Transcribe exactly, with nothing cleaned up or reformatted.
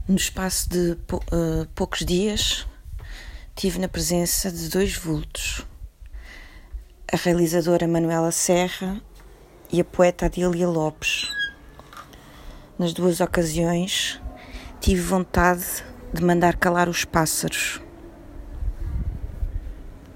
No espaço de pou, uh, poucos dias, tive na presença de dois vultos, a realizadora Manuela Serra e a poeta Adília Lopes. Nas duas ocasiões, tive vontade de mandar calar os pássaros.